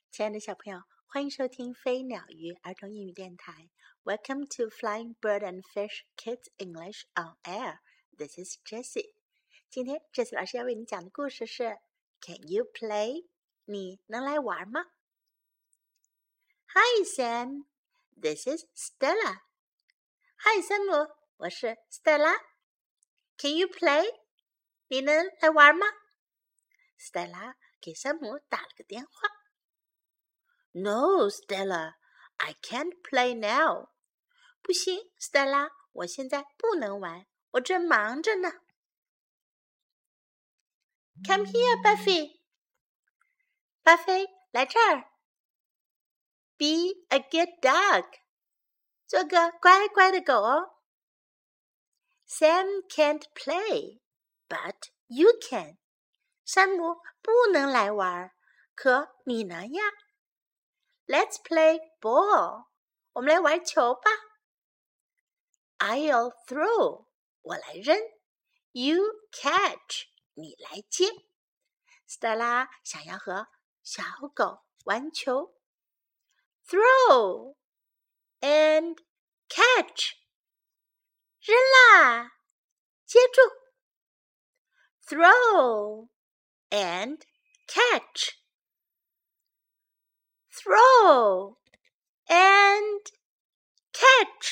亲爱的小朋友，欢迎收听飞鸟鱼儿童英语电台。Welcome to Flying Bird and Fish Kids English on Air. This is Jessie. 今天 Jessie 老师要为你讲的故事是 Can you play? 你能来玩吗？ Hi Sam, this is Stella. Hi 山姆，我是 Stella. Can you play? 你能来玩吗？ Stella 给山姆打了个电话。No, Stella, I can't play now. 不行 ，Stella， 我现在不能玩，我正忙着呢。Come here, Buffy. 巴菲，来这儿。Be a good dog. 做个乖乖的狗哦。Sam can't play, but you can. 山姆不能来玩，可你能呀。Let's play ball. 我们来玩球吧。I'll throw. 我来扔。You catch. 你来接。Stella 想要和小狗玩球。Throw and catch. 扔啦，接住。Throw and catch. Throw and catch.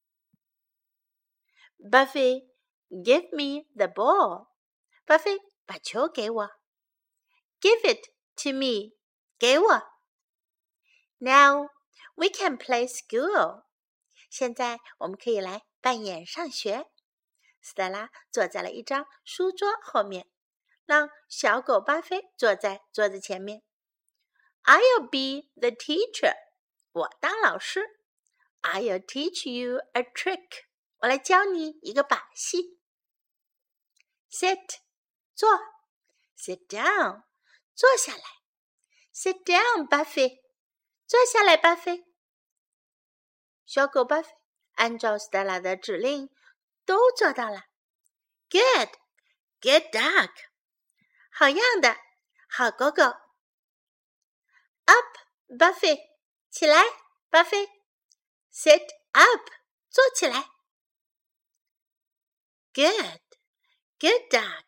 Buffy, give me the ball. Buffy, 把球给我。Give it to me. 给我。Now we can play school. 现在我们可以来扮演上学。Stella 坐在了一张书桌后面，让小狗巴菲坐在桌子前面。I'll be the teacher. 我当老师。I'll teach you a trick. 我来教你一个把戏。Sit. 坐。Sit down. 坐下来。Sit down, Buffy. 坐下来，巴菲。小狗巴菲按照 Stella 的指令都做到了。Good. Good dog. 好样的，好狗狗。Up, Buffy. 起来，巴菲。Sit up. 坐起来。Good. Good dog.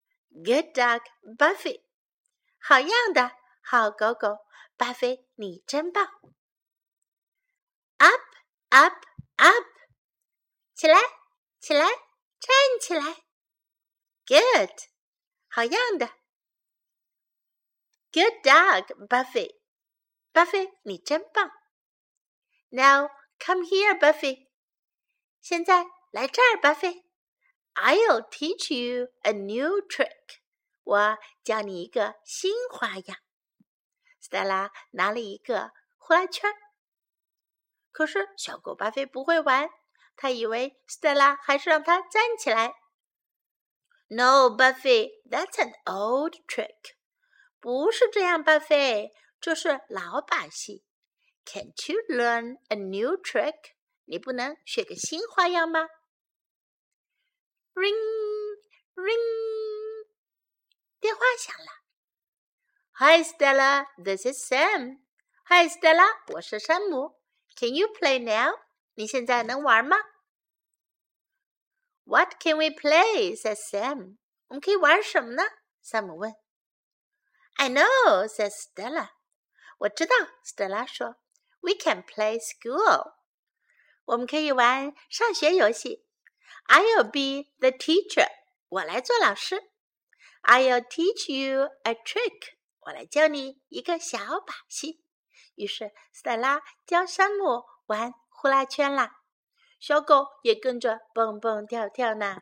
Good dog, Buffy. 好样的，好狗狗，巴菲，你真棒。Up, up, up. 起来，起来，站起来。Good. 好样的。Good dog, Buffy. 巴菲，你真棒。Now, come here, Buffy. 现在来这儿，巴菲。I'll teach you a new trick. 我教你一个新花样。Stella 拿了一个呼啦圈，可是小狗巴菲不会玩，他以为 Stella 还是让他站起来。No, Buffy, that's an old trick. 不是这样，巴菲，这是老把戏。Can't you learn a new trick? 你不能学个新花样吗？ Ring, ring. 电话响了。Hi, Stella, this is Sam. Hi, Stella, 我是山姆。Can you play now? 你现在能玩吗？ What can we play? says Sam. 我们可以玩什么呢？山姆问。I know, says Stella. 我知道 ，Stella 说。We can play school. 我们可以玩上学游戏。I'll be the teacher. 我来做老师。I'll teach you a trick. 我来教你一个小把戏。于是 Stella 教山姆玩呼啦圈啦，小狗也跟着蹦蹦跳跳呢。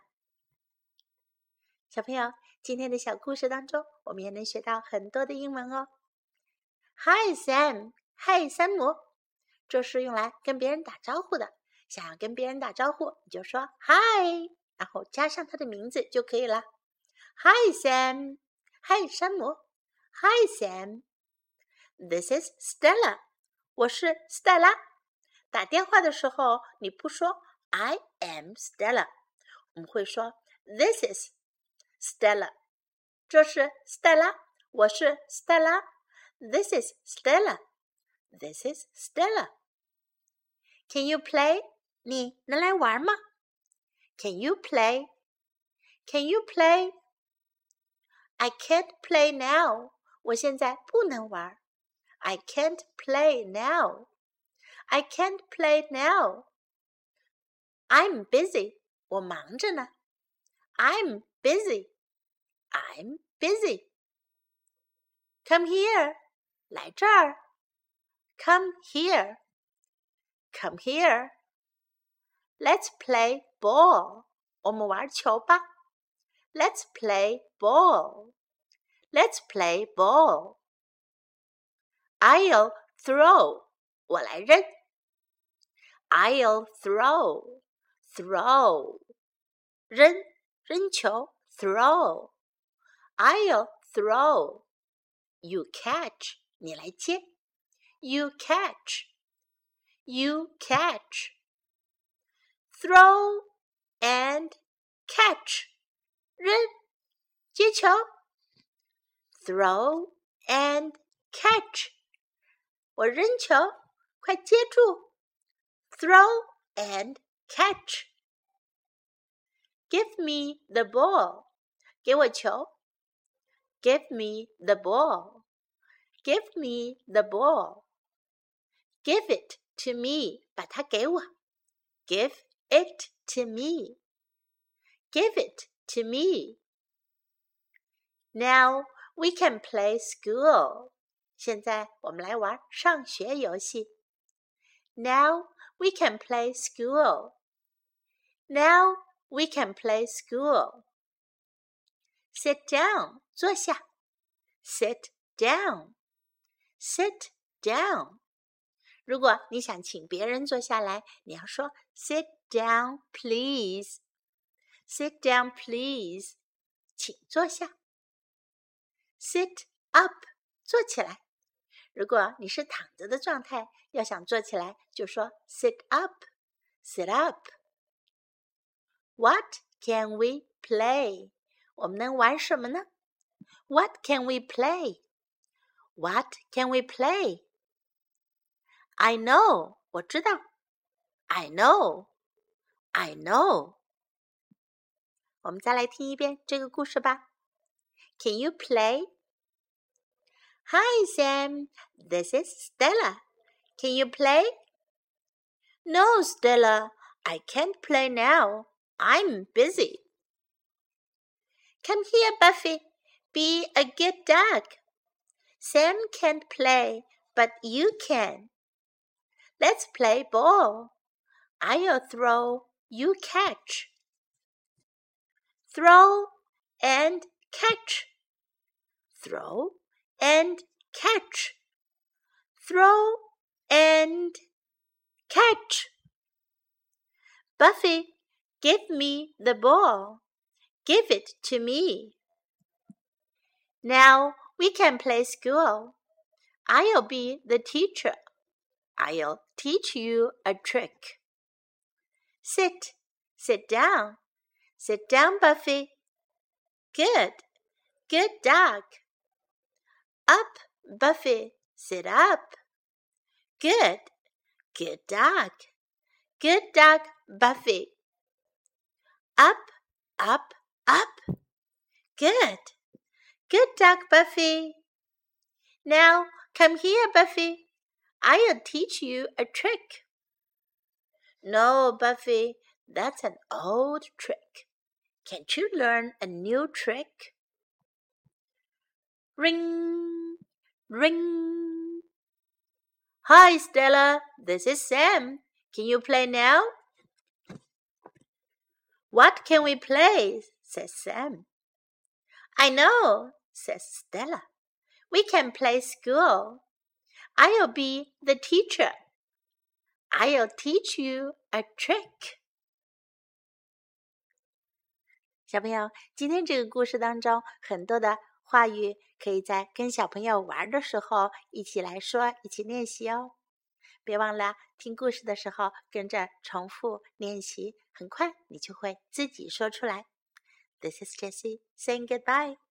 小朋友，今天的小故事当中，我们也能学到很多的英文哦。Hi Sam, Hi 山姆，这是用来跟别人打招呼的。想要跟别人打招呼，你就说 Hi， 然后加上他的名字就可以了。Hi Sam, Hi 山姆。Hi Sam, this is Stella. 我是 Stella. 打电话的时候，你不说 I am Stella， 我们会说 This is Stella. 这是 Stella， 我是 Stella. This is Stella. This is Stella. Can you play? 你能来玩吗？ Can you play? Can you play? I can't play now. 我现在不能玩。I can't play now. I can't play now. I'm busy. 我忙着呢。I'm busy. I'm busy. Come here. 来这儿。Come here. Come here. Let's play ball. 我们玩球吧。Let's play ball. Let's play ball. I'll throw. 我来扔。I'll throw. Throw. 扔，扔球。Throw. I'll throw. You catch. 你来接。You catch. You catch. Throw and catch. 扔，接球。Throw and catch. 我扔球，快接住。Throw and catch. Give me the ball. 给我球。Give me the ball. Give me the ball. Give it to me. 把它给我。Give it to me. Give it to me. Now we can play school. 现在我们来玩上学游戏。Now we can play school. Now we can play school. Sit down. 坐下。Sit down. Sit down. 如果你想请别人坐下来，你要说 Sit down, please. Sit down, please. 请坐下。Sit up. 坐起来。如果你是躺着的状态，要想坐起来，就说 Sit up. Sit up. What can we play? 我们能玩什么呢？ What can we play? What can we play? I know. 我知道。I know. I know. 我们再来听一遍这个故事吧。Can you play? Hi, Sam. This is Stella. Can you play? No, Stella. I can't play now. I'm busy. Come here, Buffy. Be a good dog. Sam can't play, but you can. Let's play ball. I'll throw, you catch. Throw and catch. Throw and catch. Throw and catch. Buffy, give me the ball. Give it to me. Now we can play school. I'll be the teacher. I'll teach you a trick. Sit. Sit down. Sit down, Buffy. Good. Good dog. Up, Buffy. Sit up. Good. Good dog. Good dog, Buffy. Up, up, up. Good. Good dog, Buffy. Now come here, Buffy. I'll teach you a trick. No, Buffy, that's an old trick. Can't you learn a new trick? Ring, ring. Hi, Stella. This is Sam. Can you play now? What can we play? Says Sam. I know, says Stella. We can play school. I'll be the teacher. I'll teach you a trick. 小朋友，今天这个故事当中，很多的话语可以在跟小朋友玩的时候一起来说，一起练习哦。别忘了听故事的时候跟着重复练习，很快你就会自己说出来。This is Jessie saying goodbye.